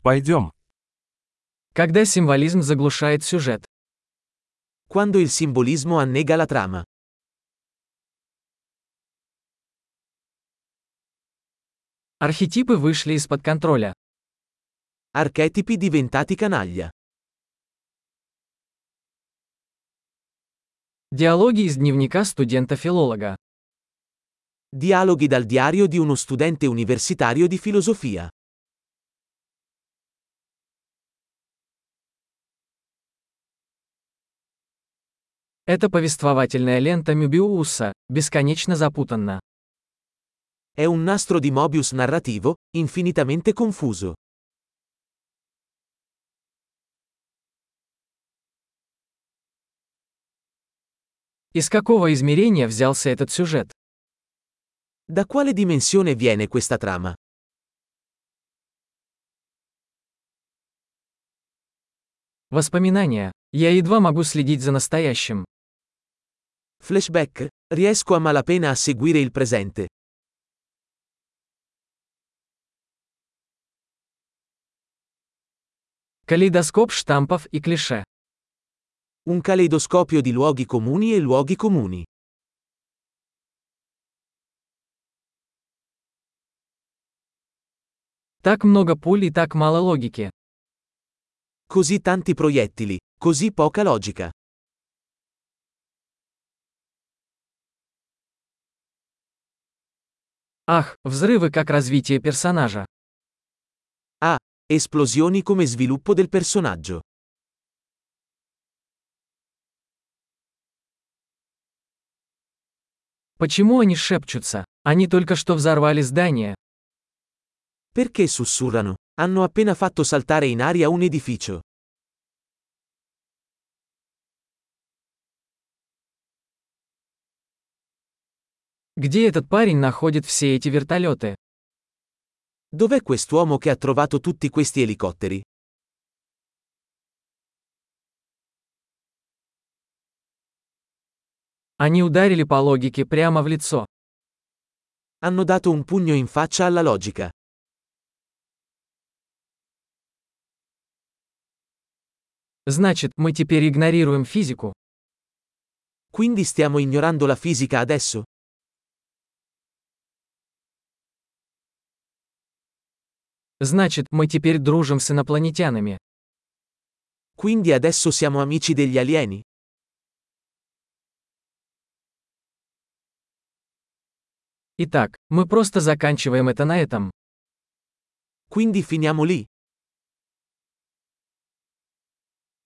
Пойдем. Когда символизм заглушает сюжет. Quando il simbolismo annega la trama. Архетипы вышли из-под контроля. Archetipi diventati canaglia. Диалоги из дневника студента-филолога. Dialoghi dal diario di uno studente universitario di filosofia. Это повествовательная лента Мёбиуса, бесконечно запутанна. È un nastro di Mobius narrativo, infinitamente confuso. Из какого измерения взялся этот сюжет? Da quale dimensione viene questa trama? Воспоминания. Я едва могу следить за настоящим. Flashback? Riesco a malapena a seguire il presente. Калейдоскоп штампов и клише. Un caleidoscopio di luoghi comuni e luoghi comuni. Так много пуль и так мало логики. Così tanti proiettili, così poca logica. Ах, взрывы как развитие персонажа. Ah, esplosioni come sviluppo del personaggio. Почему они шепчутся? Они только что взорвали здание. Perché sussurrano? Hanno appena fatto saltare in aria un edificio. Где этот парень находит все эти вертолеты? Dov'è quest'uomo che ha trovato tutti questi elicotteri? Они ударили по логике прямо в лицо. Hanno dato un pugno in faccia alla logica. Значит, мы теперь игнорируем физику. Quindi stiamo ignorando la fisica adesso? Значит, мы теперь дружим с инопланетянами. Quindi adesso siamo amici degli alieni? Итак, мы просто заканчиваем это на этом. Quindi finiamo lì.